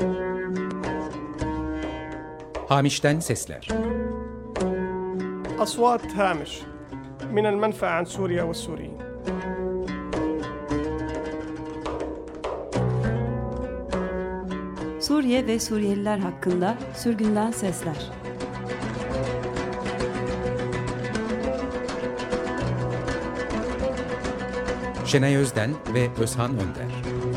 Hamiş'ten sesler. أصوات هامش من المنفى عن سوريا والسوريين. Suriye ve Suriyeliler hakkında sürgünden sesler. Şenay Özden ve Özhan Önder.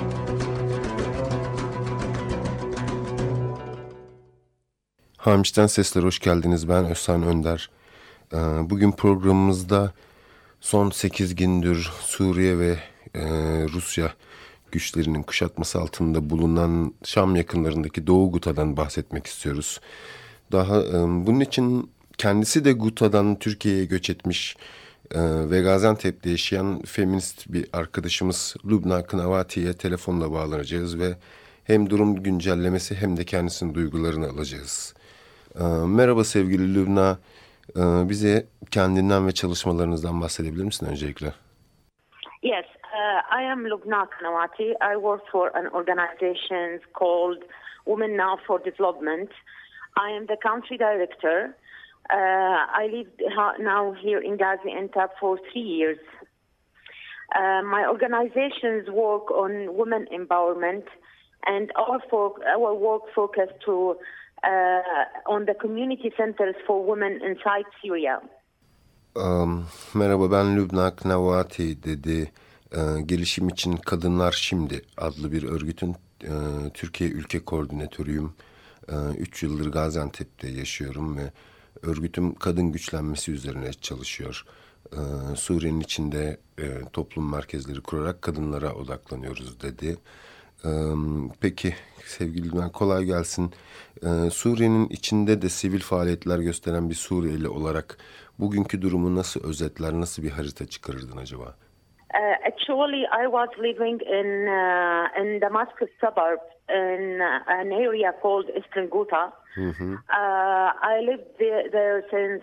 Hamiş'ten sesler, hoş geldiniz. Ben Özhan Önder. Bugün programımızda son 8 gündür Suriye ve Rusya güçlerinin kuşatması altında bulunan Şam yakınlarındaki Doğu Guta'dan bahsetmek istiyoruz. Bunun için kendisi de Guta'dan Türkiye'ye göç etmiş ve Gaziantep'te yaşayan feminist bir arkadaşımız Lubna Kınavati'ye telefonla bağlanacağız ve hem durum güncellemesi hem de kendisinin duygularını alacağız. Merhaba sevgili Lubna, bize kendinden ve çalışmalarınızdan bahsedebilir misin öncelikle? Yes, I am Lubna Kınavati. I work for an organization called Women Now for Development. I am the country director. I live now here in Gaziantep for 3 years. My organizations work on women empowerment, and our work focused on the community centers for women inside Syria. Merhaba, ben Lubna Kınavati dedi. Gelişim için Kadınlar Şimdi adlı bir örgütün Türkiye ülke koordinatörüyüm. 3 yıldır Gaziantep'te yaşıyorum ve örgütüm kadın güçlenmesi üzerine çalışıyor. Suriye'nin içinde toplum merkezleri kurarak kadınlara odaklanıyoruz dedi. Peki sevgili Lubna, kolay gelsin. Suriye'nin içinde de sivil faaliyetler gösteren bir Suriyeli olarak bugünkü durumu nasıl özetler, nasıl bir harita çıkarırdın acaba? Actually, I was living in Damascus suburb in an area called Eastern Ghouta. I lived there since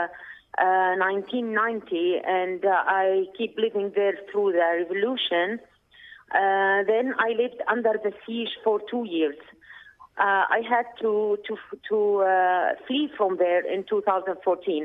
1990, and I keep living there through the revolution. Then I lived under the siege for 2 years. I had to flee from there in 2014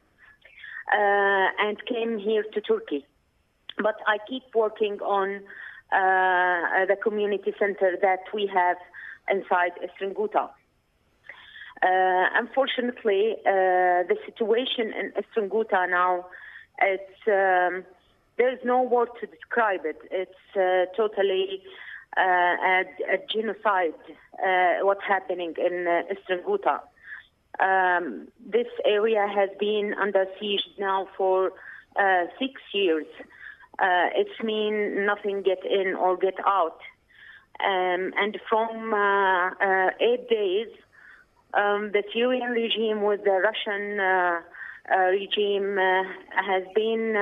and came here to Turkey. But I keep working on the community center that we have inside Eastern Ghouta. Unfortunately, the situation in Eastern Ghouta now, there's no word to describe it. It's totally a genocide, what's happening in Eastern Ghouta. This area has been under siege now for 6 years. It's mean nothing get in or get out. And from 8 days, the Syrian regime with the Russian regime has been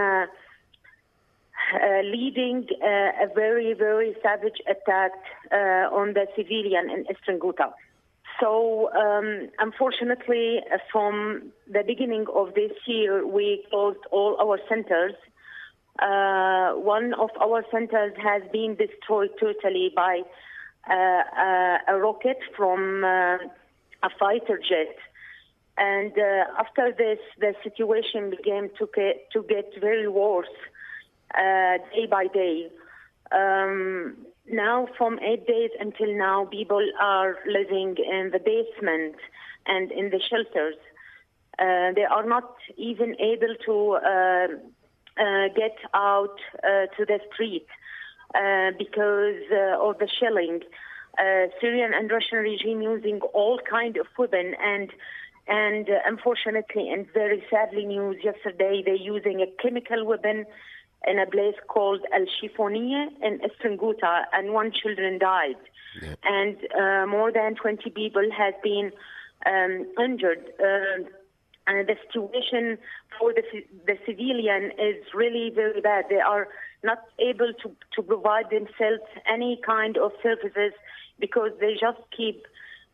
leading a very, very savage attack on the civilian in Eastern Ghouta. So, unfortunately, from the beginning of this year, we closed all our centers. One of our centers has been destroyed totally by a rocket from a fighter jet. And after this, the situation began to get very worse day by day. Now, from 8 days until now, people are living in the basement and in the shelters. They are not even able to get out to the street because of the shelling. Syrian and Russian regime using all kind of weapon, and unfortunately and very sadly news yesterday, they're using a chemical weapon in a place called Al-Shifoniya in Eastern Ghouta, and 1 child died. Yeah. And more than 20 people has been injured. And the situation for the civilian is really very bad. They are not able to provide themselves any kind of services because they just keep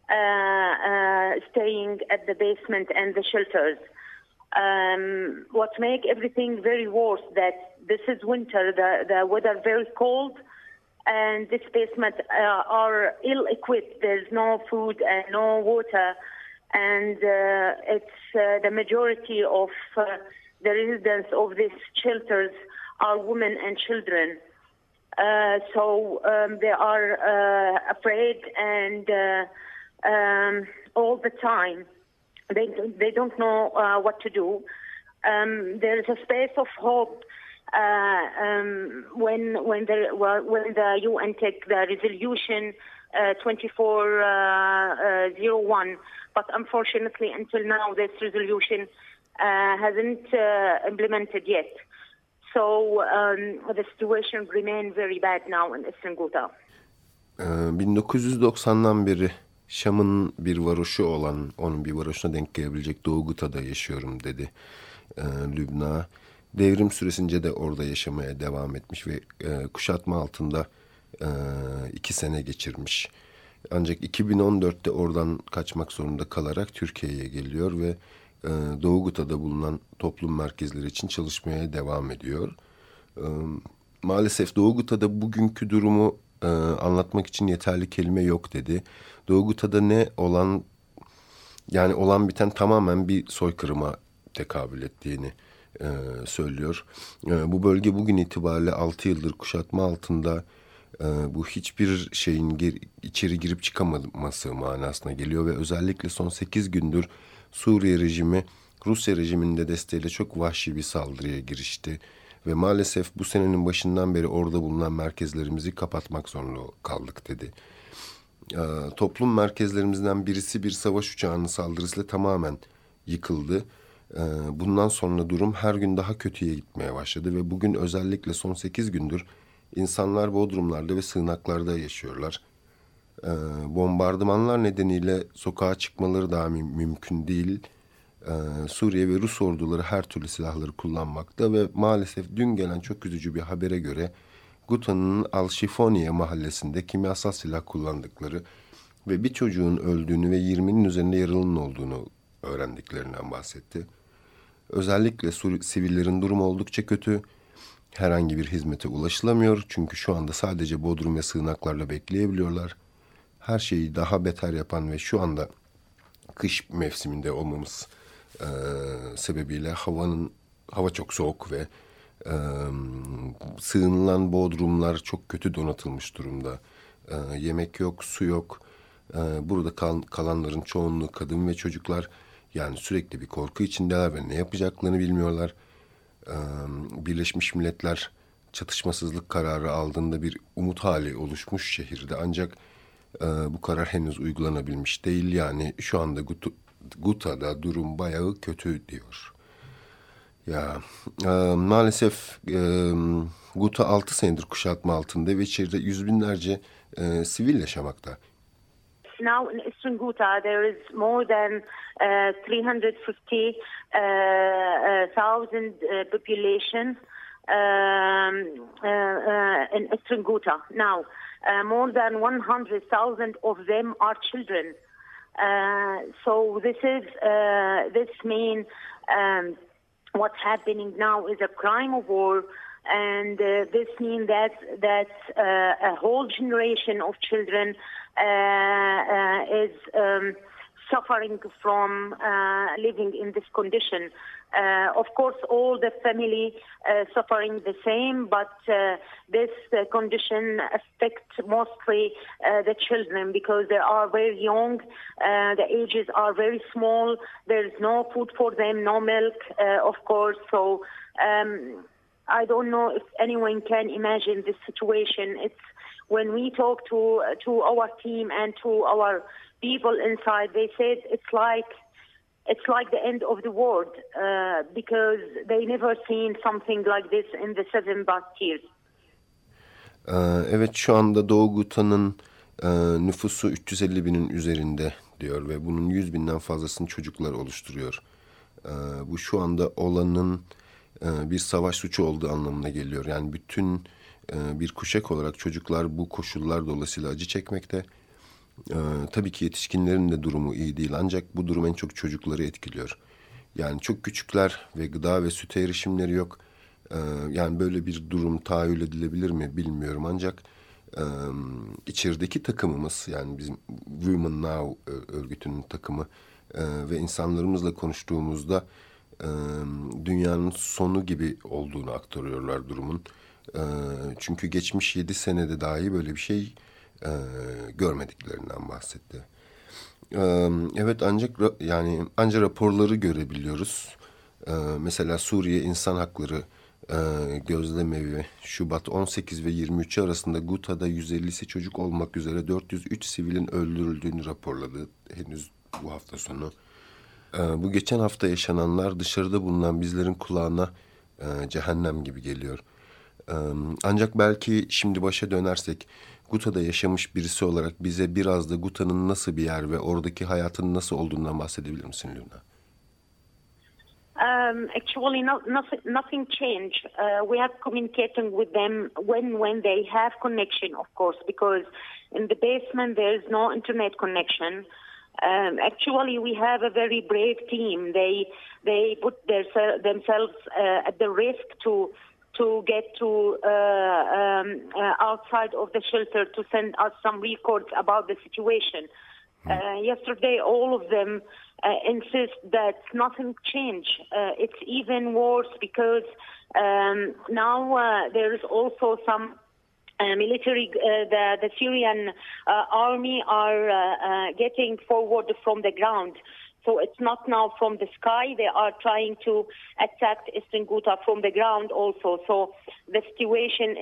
staying at the basement and the shelters. What make everything very worse that this is winter, the weather very cold, and this basement are ill-equipped. There's no food and no water, and it's the majority of the residents of these shelters are women and children. So they are afraid and all the time. They don't know what to do. There is a space of hope when the UN take the resolution 2401, but unfortunately until now this resolution hasn't implemented yet. So the situation remains very bad now in Eastern Ghouta. 1990'dan beri Şam'ın bir varoşu olan, onun bir varoşuna denk gelebilecek Doğu Guta'da yaşıyorum dedi Lübna. Devrim süresince de orada yaşamaya devam etmiş ve kuşatma altında 2 sene geçirmiş. Ancak 2014'te oradan kaçmak zorunda kalarak Türkiye'ye geliyor ve Doğu Guta'da bulunan toplum merkezleri için çalışmaya devam ediyor. Maalesef Doğu Guta'da bugünkü durumu anlatmak için yeterli kelime yok dedi. Doğu Guta'da olan biten tamamen bir soykırıma tekabül ettiğini söylüyor. Bu bölge bugün itibariyle 6 yıldır kuşatma altında. Bu hiçbir şeyin içeri girip çıkamaması manasına geliyor ve özellikle son 8 gündür Suriye rejimi Rusya rejiminin de desteğiyle çok vahşi bir saldırıya girişti. Ve maalesef bu senenin başından beri orada bulunan merkezlerimizi kapatmak zorunda kaldık dedi. Toplum merkezlerimizden birisi bir savaş uçağının saldırısıyla tamamen yıkıldı. Bundan sonra durum her gün daha kötüye gitmeye başladı ve bugün özellikle son 8 gündür insanlar bodrumlarda ve sığınaklarda yaşıyorlar. Bombardımanlar nedeniyle sokağa çıkmaları daha mümkün değil. Suriye ve Rus orduları her türlü silahları kullanmakta ve maalesef dün gelen çok üzücü bir habere göre Guta'nın Al-Şifoniye mahallesinde kimyasal silah kullandıkları ve bir çocuğun öldüğünü ve 20'nin üzerinde yaralının olduğunu öğrendiklerinden bahsetti. Özellikle sivillerin durumu oldukça kötü. Herhangi bir hizmete ulaşılamıyor çünkü şu anda sadece bodrum ve sığınaklarla bekleyebiliyorlar. Her şeyi daha beter yapan ve şu anda kış mevsiminde olmamız sebebiyle hava çok soğuk ve sığınılan bodrumlar çok kötü donatılmış durumda. Yemek yok, su yok. Burada kalanların çoğunluğu kadın ve çocuklar. Yani sürekli bir korku içindeler ve ne yapacaklarını bilmiyorlar. Birleşmiş Milletler çatışmasızlık kararı aldığında bir umut hali oluşmuş şehirde. Ancak bu karar henüz uygulanabilmiş değil. Yani şu anda Guta'da durum bayağı kötü diyor. Maalesef Guta 6 senedir kuşatma altında ve içeride yüz binlerce sivil yaşamakta. Now in Eastern Ghouta there is more than 350,000 population in Eastern Ghouta. Now more than 100,000 of them are children. So this means what's happening now is a crime of war, and this means that a whole generation of children is suffering from living in this condition. Of course, all the family suffering the same, but this condition affects mostly the children because they are very young, the ages are very small, there is no food for them, no milk, of course. So I don't know if anyone can imagine this situation. It's when we talk to our team and to our people inside, they said it's like the end of the world because they never seen something like this in the 7 past years. Evet, şu anda Doğu Guta'nın nüfusu 350 binin üzerinde diyor ve bunun 100 binden fazlasını çocuklar oluşturuyor. Bu şu anda olanın bir savaş suçu olduğu anlamına geliyor. Yani bütün bir kuşak olarak çocuklar bu koşullar dolayısıyla acı çekmekte. Tabii ki yetişkinlerin de durumu iyi değil ancak bu durum en çok çocukları etkiliyor. Yani çok küçükler ve gıda ve süte erişimleri yok. Yani böyle bir durum tahayyül edilebilir mi bilmiyorum ancak içerideki takımımız, yani bizim Women Now örgütünün takımı ve insanlarımızla konuştuğumuzda dünyanın sonu gibi olduğunu aktarıyorlar durumun. Çünkü geçmiş 7 senede dahi böyle bir şey görmediklerinden bahsetti. Evet, ancak raporları görebiliyoruz. Mesela Suriye İnsan Hakları Gözlemevi Şubat 18 ve 23 arasında Guta'da 150'si çocuk olmak üzere 403 sivilin öldürüldüğünü raporladı henüz bu hafta sonu. Bu geçen hafta yaşananlar dışarıda bulunan bizlerin kulağına cehennem gibi geliyor. Ancak belki şimdi başa dönersek, Guta'da yaşamış birisi olarak bize biraz da Guta'nın nasıl bir yer ve oradaki hayatın nasıl olduğundan bahsedebilir misin Luna? Actually, nothing changed. We are communicating with them when they have connection, of course, because in the basement there is no internet connection. Actually, we have a very brave team. They put themselves at the risk to get to outside of the shelter to send us some records about the situation. Yesterday, all of them insist that nothing changed. It's even worse because now there is also some military, the Syrian army are getting forward from the ground. So it's not now from the sky. They are trying to attack Eastern Ghouta from the ground also. So the situation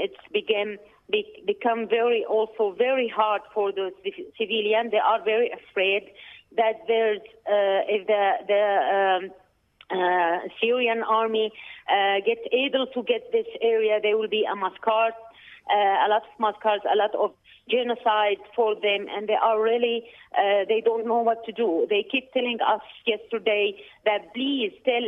become very hard for the civilians. They are very afraid that there's if the Syrian army gets able to get this area, there will be a massacre, a lot of massacres, a lot of genocide for them, and they are really they don't know what to do. They keep telling us yesterday that please tell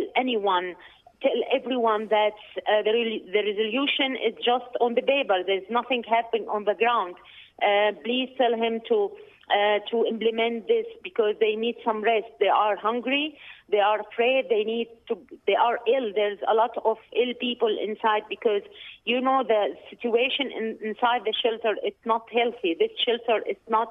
everyone that the resolution is just on the paper. There's nothing happening on the ground. Please tell him to implement this because they need some rest. They are hungry. They are afraid. They are ill. There's a lot of ill people inside because, the situation inside the shelter, it's not healthy. This shelter is not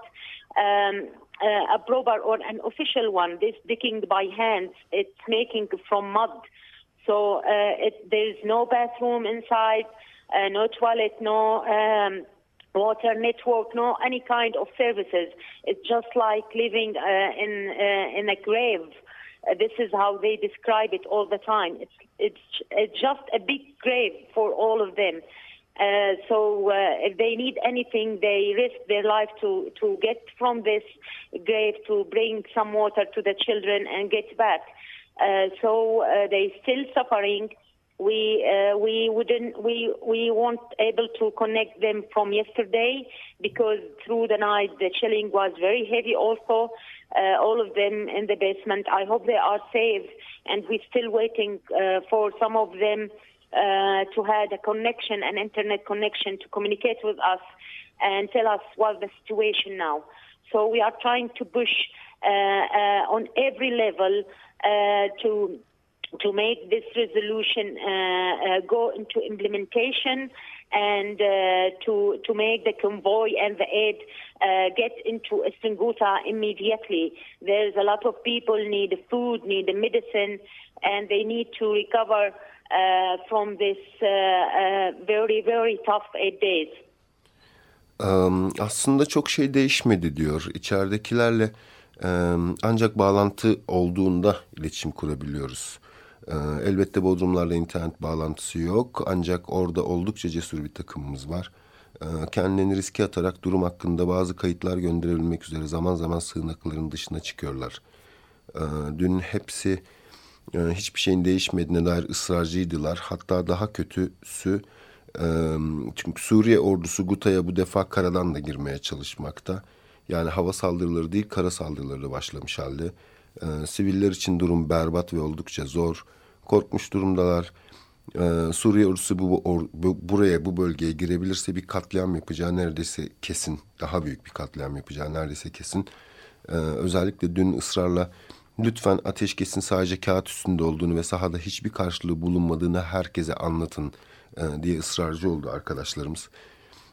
a proper or an official one. This digging by hands. It's making from mud. So there's no bathroom inside, no toilet, no water network, no any kind of services. It's just like living in a grave. This is how they describe it all the time. It's just a big grave for all of them. So if they need anything, they risk their life to get from this grave to bring some water to the children and get back. So they still suffering. We weren't able to connect them from yesterday because through the night the chilling was very heavy also. All of them in the basement. I hope they are safe, and we're still waiting for some of them to have a connection, an internet connection, to communicate with us and tell us what's the situation now. So we are trying to push on every level to make this resolution go into implementation and to make the convoy and the aid get into Eastern Ghouta immediately. There's a lot of people need food, need medicine, and they need to recover from this very, very tough 8 days. Aslında çok şey değişmedi diyor. İçeridekilerle ancak bağlantı olduğunda iletişim kurabiliyoruz. Elbette Bodrumlarla internet bağlantısı yok. Ancak orada oldukça cesur bir takımımız var. Kendilerini riske atarak durum hakkında bazı kayıtlar gönderebilmek üzere zaman zaman sığınakların dışına çıkıyorlar. Dün hepsi hiçbir şeyin değişmediğine dair ısrarcıydılar. Hatta daha kötüsü, çünkü Suriye ordusu Guta'ya bu defa karadan da girmeye çalışmakta. Yani hava saldırıları değil, kara saldırıları da başlamış halde. Siviller için durum berbat ve oldukça zor. Korkmuş durumdalar. Suriye ordusu bu bölgeye girebilirse bir katliam yapacağı neredeyse kesin. Daha büyük bir katliam yapacağı neredeyse kesin. Özellikle dün ısrarla lütfen ateşkesin sadece kağıt üstünde olduğunu ve sahada hiçbir karşılığı bulunmadığını herkese anlatın diye ısrarcı oldu arkadaşlarımız.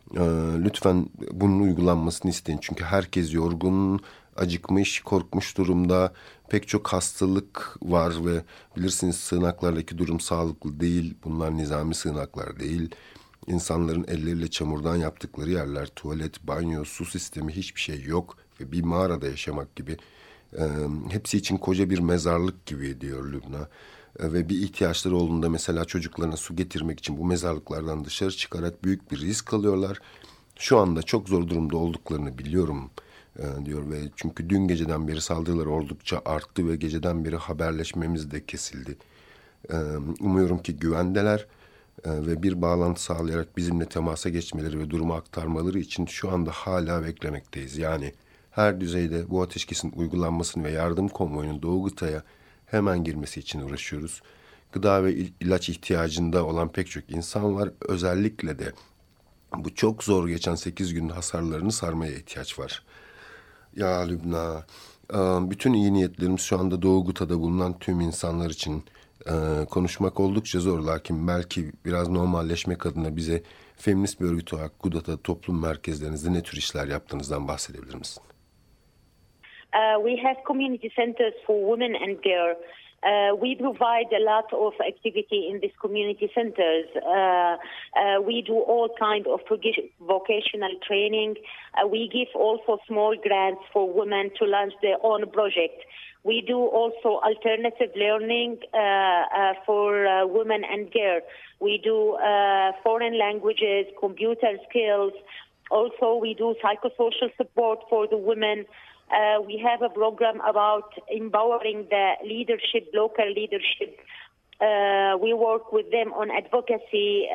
Lütfen bunun uygulanmasını isteyin. Çünkü herkes yorgun, acıkmış, korkmuş durumda. Pek çok hastalık var ve bilirsiniz sığınaklardaki durum sağlıklı değil. Bunlar nizami sığınaklar değil. İnsanların elleriyle çamurdan yaptıkları yerler, tuvalet, banyo, su sistemi hiçbir şey yok. Ve bir mağarada yaşamak gibi. Hepsi için koca bir mezarlık gibi diyor Lübna. Ve bir ihtiyaçları olduğunda mesela çocuklarına su getirmek için bu mezarlıklardan dışarı çıkarak büyük bir risk alıyorlar. Şu anda çok zor durumda olduklarını biliyorum diyor ve çünkü dün geceden beri saldırılar oldukça arttı ve geceden beri haberleşmemiz de kesildi. Umuyorum ki güvendeler ve bir bağlantı sağlayarak bizimle temasa geçmeleri ve durumu aktarmaları için şu anda hala beklemekteyiz. Yani her düzeyde bu ateşkesin uygulanmasını ve yardım konvoyunun Doğu Gıta'ya hemen girmesi için uğraşıyoruz. Gıda ve ilaç ihtiyacında olan pek çok insan var. Özellikle de bu çok zor geçen 8 günün hasarlarını sarmaya ihtiyaç var. Ya Lübna, bütün iyi niyetlerimiz şu anda Doğu Gıta'da bulunan tüm insanlar için konuşmak oldukça zor. Lakin belki biraz normalleşmek adına bize feminist bir örgüt olarak Guda'da toplum merkezlerinizde ne tür işler yaptığınızdan bahsedebilir misin? We have community centers for women and girls. We provide a lot of activity in these community centers. We do all kind of vocational training. We give also small grants for women to launch their own project. We do also alternative learning for women and girls. We do foreign languages, computer skills. Also, we do psychosocial support for the women. We have a program about empowering the leadership, local leadership. We work with them on advocacy,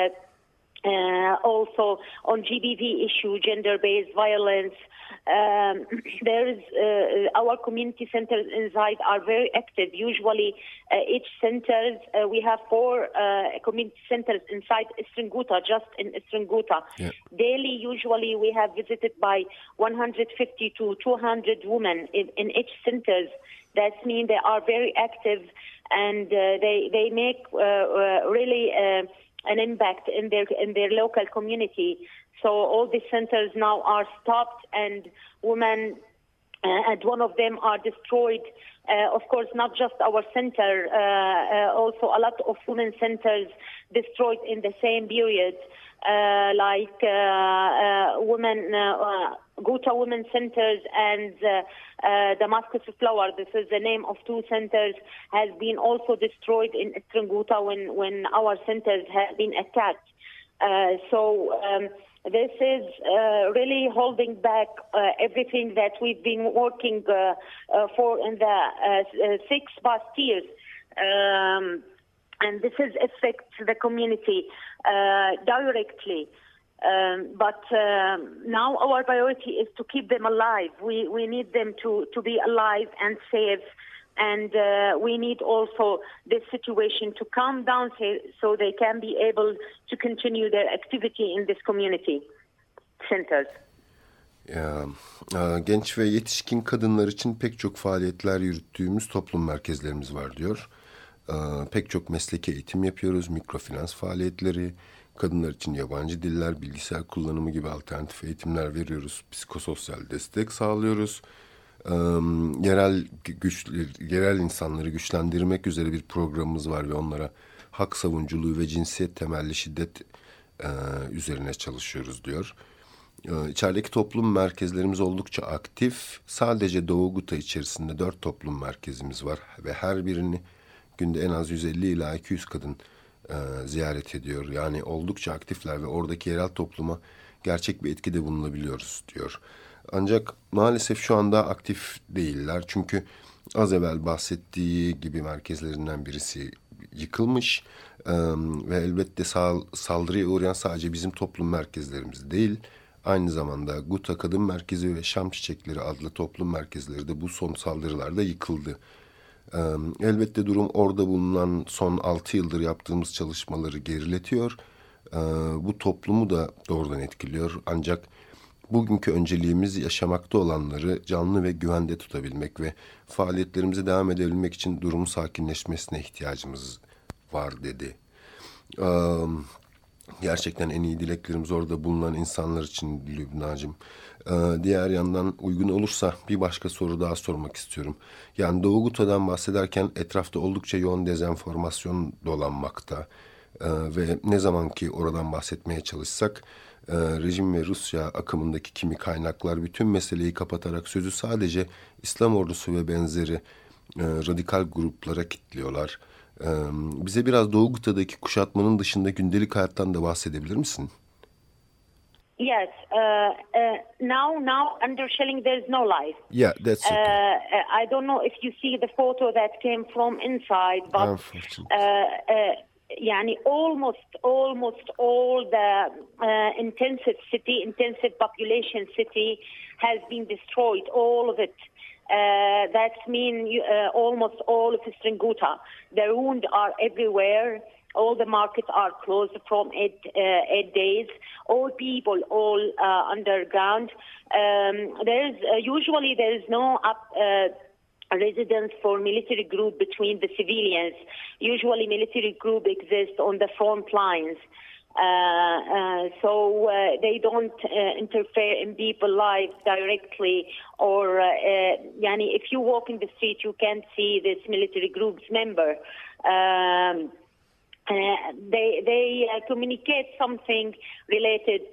also on GBV issue, gender-based violence. There is our community centers inside are very active. Usually, each centers we have 4 community centers inside Eastern Ghouta, just in Eastern Ghouta. Yeah. Daily, usually we have visited by 150 to 200 women in each centers. That means they are very active and they make really an impact in their local community. So all the centers now are stopped and women and one of them are destroyed. Of course, not just our center, also a lot of women centers destroyed in the same period, like Ghouta Women Centers and Damascus Flower. This is the name of 2 centers, has been also destroyed in Eastern Ghouta when our centers have been attacked. This is really holding back everything that we've been working for in the 6 past years. And this is affects the community directly. But now our priority is to keep them alive. We need them to be alive and safe. And we need also this situation to calm down so they can be able to continue their activity in this community centers. Genç ve yetişkin kadınlar için pek çok faaliyetler yürüttüğümüz toplum merkezlerimiz var diyor. Pek çok mesleki eğitim yapıyoruz, mikrofinans faaliyetleri, kadınlar için yabancı diller, bilgisayar kullanımı gibi alternatif eğitimler veriyoruz, psikososyal destek sağlıyoruz. Yerel insanları güçlendirmek üzere bir programımız var ve onlara hak savunuculuğu ve cinsiyet temelli şiddet üzerine çalışıyoruz diyor. İçerideki toplum merkezlerimiz oldukça aktif. Sadece Doğu Ghouta içerisinde 4 toplum merkezimiz var ve her birini günde en az 150 ila 200 kadın ziyaret ediyor. Yani oldukça aktifler ve oradaki yerel topluma gerçek bir etkide bulunabiliyoruz diyor. Ancak maalesef şu anda aktif değiller. Çünkü az evvel bahsettiği gibi merkezlerinden birisi yıkılmış. Ve elbette saldırıya uğrayan sadece bizim toplum merkezlerimiz değil. Aynı zamanda Ghouta Kadın Merkezi ve Şam Çiçekleri adlı toplum merkezleri de bu son saldırılarda yıkıldı. Elbette durum orada bulunan son 6 yıldır yaptığımız çalışmaları geriletiyor. Bu toplumu da doğrudan etkiliyor. Ancak bugünkü önceliğimiz yaşamakta olanları canlı ve güvende tutabilmek ve faaliyetlerimize devam edebilmek için durumun sakinleşmesine ihtiyacımız var dedi. Gerçekten en iyi dileklerimiz orada bulunan insanlar için Lübnacığım. Diğer yandan uygun olursa bir başka soru daha sormak istiyorum. Yani Doğu Guta'dan bahsederken etrafta oldukça yoğun dezenformasyon dolanmakta. Ve ne zaman ki oradan bahsetmeye çalışsak rejim ve Rusya akımındaki kimi kaynaklar bütün meseleyi kapatarak sözü sadece İslam ordusu ve benzeri radikal gruplara kilitliyorlar. Bize biraz Doğu Guta'daki kuşatmanın dışında gündelik hayattan da bahsedebilir misin? Yes. Now under shelling, there's no life. Yeah, that's okay. I don't know if you see the photo that came from inside, but Unfortunately. yani almost all the intensive population city has been destroyed. All of it. That means almost all of Eastern Ghouta. The ruins are everywhere. All the markets are closed from 8 days. All people, underground. Usually there is no residence for military group between the civilians. Usually military group exists on the front lines. So they don't interfere in people's lives directly, or if you walk in the street, you can't see this military group's member. They communicate something related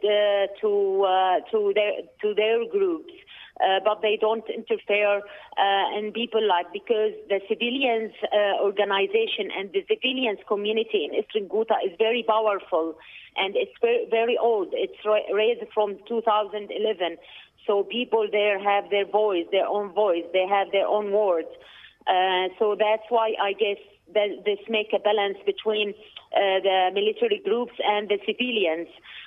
to their groups. But they don't interfere in people's life, because the civilians organization and the civilians community in Eastern Ghouta is very powerful, and it's very, very old. It's raised from 2011. So people there have their voice, their own voice. They have their own words. So that's why I guess that this make a balance between the military groups and the civilians.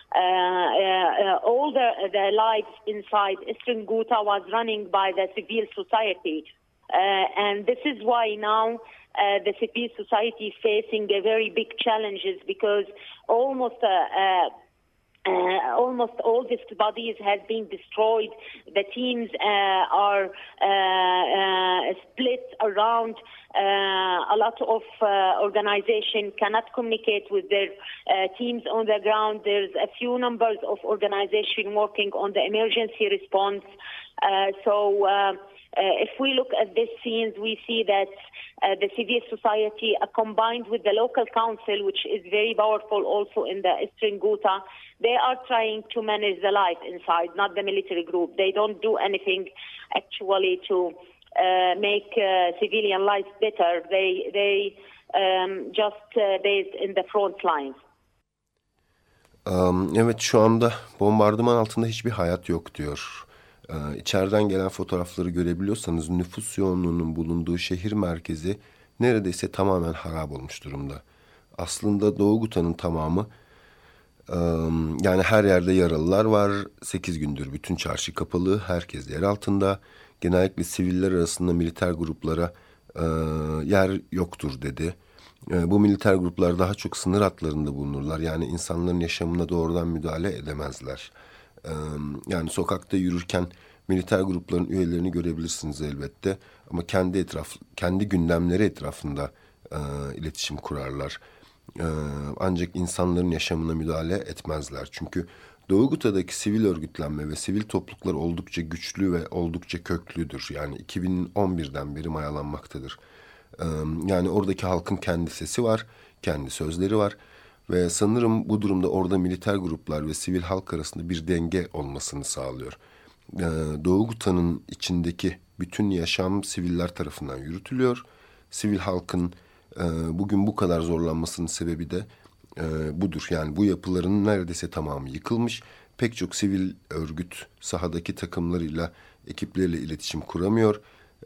All the lives inside Eastern Ghouta was running by the civil society. And this is why now the civil society is facing a very big challenges, because almost all these bodies has been destroyed. The teams are split around. A lot of organization cannot communicate with their teams on the ground. There's a few numbers of organization working on the emergency response. If we look at these scenes, we see that the civil society, combined with the local council, which is very powerful also in the Eastern Ghouta, they are trying to manage the life inside, not the military group. They don't do anything actually to make civilian life better. They just based in the front lines. Evet, şu anda bombardıman altında hiçbir hayat yok diyor. İçeriden gelen fotoğrafları görebiliyorsanız nüfus yoğunluğunun bulunduğu şehir merkezi neredeyse tamamen harap olmuş durumda. Aslında Doğu Guta'nın tamamı, yani her yerde yaralılar var. 8 gündür bütün çarşı kapalı, herkes yer altında. Genellikle siviller arasında militer gruplara yer yoktur dedi. Bu militer gruplar daha çok sınır hatlarında bulunurlar. Yani insanların yaşamına doğrudan müdahale edemezler. Yani sokakta yürürken militer grupların üyelerini görebilirsiniz elbette. Ama kendi gündemleri etrafında iletişim kurarlar. Ancak insanların yaşamına müdahale etmezler. Çünkü Doğu Guta'daki sivil örgütlenme ve sivil topluluklar oldukça güçlü ve oldukça köklüdür. Yani 2011'den beri mayalanmaktadır. Yani oradaki halkın kendi sesi var, kendi sözleri var. Ve sanırım bu durumda orada militer gruplar ve sivil halk arasında bir denge olmasını sağlıyor. Doğu Guta'nın içindeki bütün yaşam siviller tarafından yürütülüyor. Sivil halkın bugün bu kadar zorlanmasının sebebi de budur. Yani bu yapıların neredeyse tamamı yıkılmış. Pek çok sivil örgüt sahadaki takımlarıyla, ekipleriyle iletişim kuramıyor.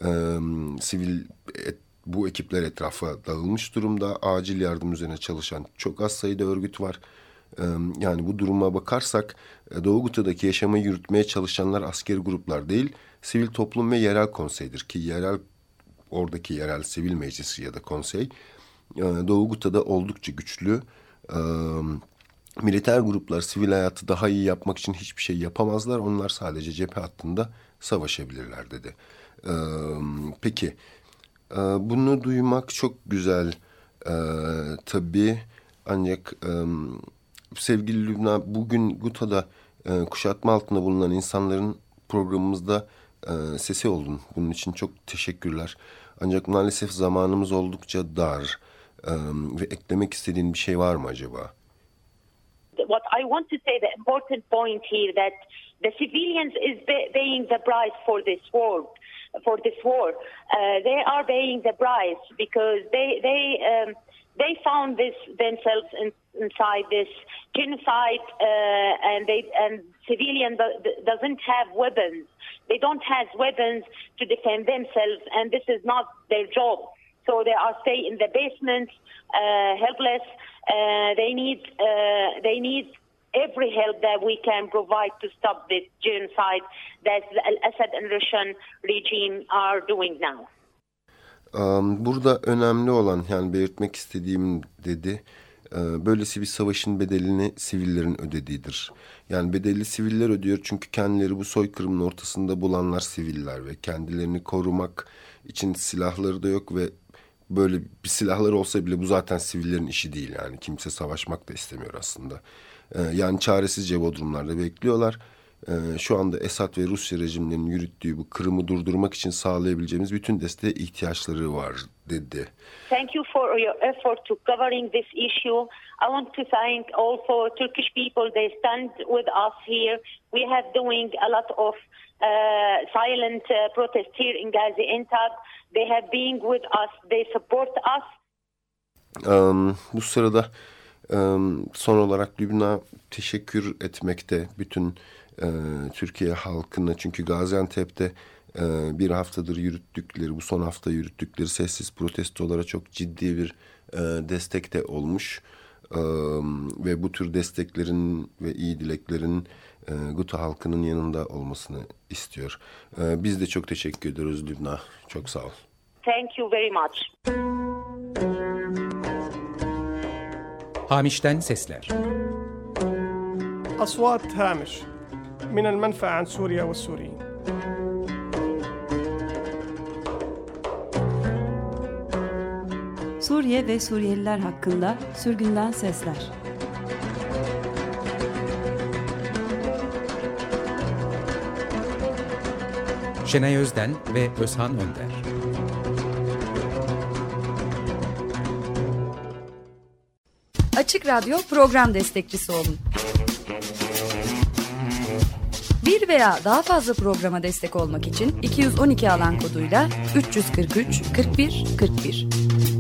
Bu ekipler etrafa dağılmış durumda. Acil yardım üzerine çalışan çok az sayıda örgüt var. Yani bu duruma bakarsak Doğu Guta'daki yaşamı yürütmeye çalışanlar askeri gruplar değil, sivil toplum ve yerel konseydir ki oradaki yerel sivil meclisi ya da konsey Doğu Guta'da oldukça güçlü. Militer gruplar sivil hayatı daha iyi yapmak için hiçbir şey yapamazlar. Onlar sadece cephe hattında savaşabilirler dedi. Peki bunu duymak çok güzel tabii, ancak sevgili Lübna, bugün Guta'da kuşatma altında bulunan insanların programımızda sesi oldun. Bunun için çok teşekkürler. Ancak maalesef zamanımız oldukça dar ve eklemek istediğin bir şey var mı acaba? What I want to say, the important point here, that the civilians is paying the price for this war. They are paying the price because they found themselves inside this genocide, and civilian doesn't have weapons. They don't have weapons to defend themselves, and this is not their job. So they are stay in the basement, helpless. They need every help that we can provide to stop this genocide that Al-Assad and Russian regime are doing now. Burada önemli olan, yani belirtmek istediğim dedi, böylesi bir savaşın bedelini sivillerin ödediğidir. Yani bedeli siviller ödüyor çünkü kendileri bu soykırımın ortasında bulanlar siviller ve kendilerini korumak için silahları da yok ve böyle bir silahları olsa bile bu zaten sivillerin işi değil. Yani kimse savaşmak da istemiyor aslında. Yani çaresizce bodrumlarda bekliyorlar. Şu anda Esad ve Rusya rejimlerinin yürüttüğü bu kırımı durdurmak için sağlayabileceğimiz bütün desteğe ihtiyaçları var dedi. Thank you for your effort to covering this issue. I want to thank also Turkish people. They stand with us here. We have doing a lot of silent protest here in Gaziantep. They have been with us. They support us. Bu sırada son olarak Lübna teşekkür etmekte bütün Türkiye halkına, çünkü Gaziantep'te bir haftadır yürüttükleri, bu son hafta yürüttükleri sessiz protestolara çok ciddi bir destek de olmuş ve bu tür desteklerin ve iyi dileklerin Guta halkının yanında olmasını istiyor. Biz de çok teşekkür ediyoruz Lübna. Çok sağ ol. Thank you very much. Hamiş'ten sesler. أصوات هامش من المنفى عن سوريا والسوريين. Suriye ve Suriyeliler hakkında sürgünden sesler. Şenay Özden ve Özhan Önder. Açık Radyo program destekçisi olun. Bir veya daha fazla programa destek olmak için 212 alan koduyla 343 41 41.